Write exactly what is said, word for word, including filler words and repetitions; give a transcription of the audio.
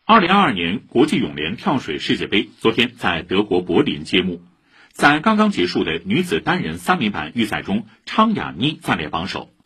二零二二年国际泳联跳水世界杯昨天在德国柏林揭幕。在刚刚结束的女子单人三米板预赛中，昌雅妮暂列榜首。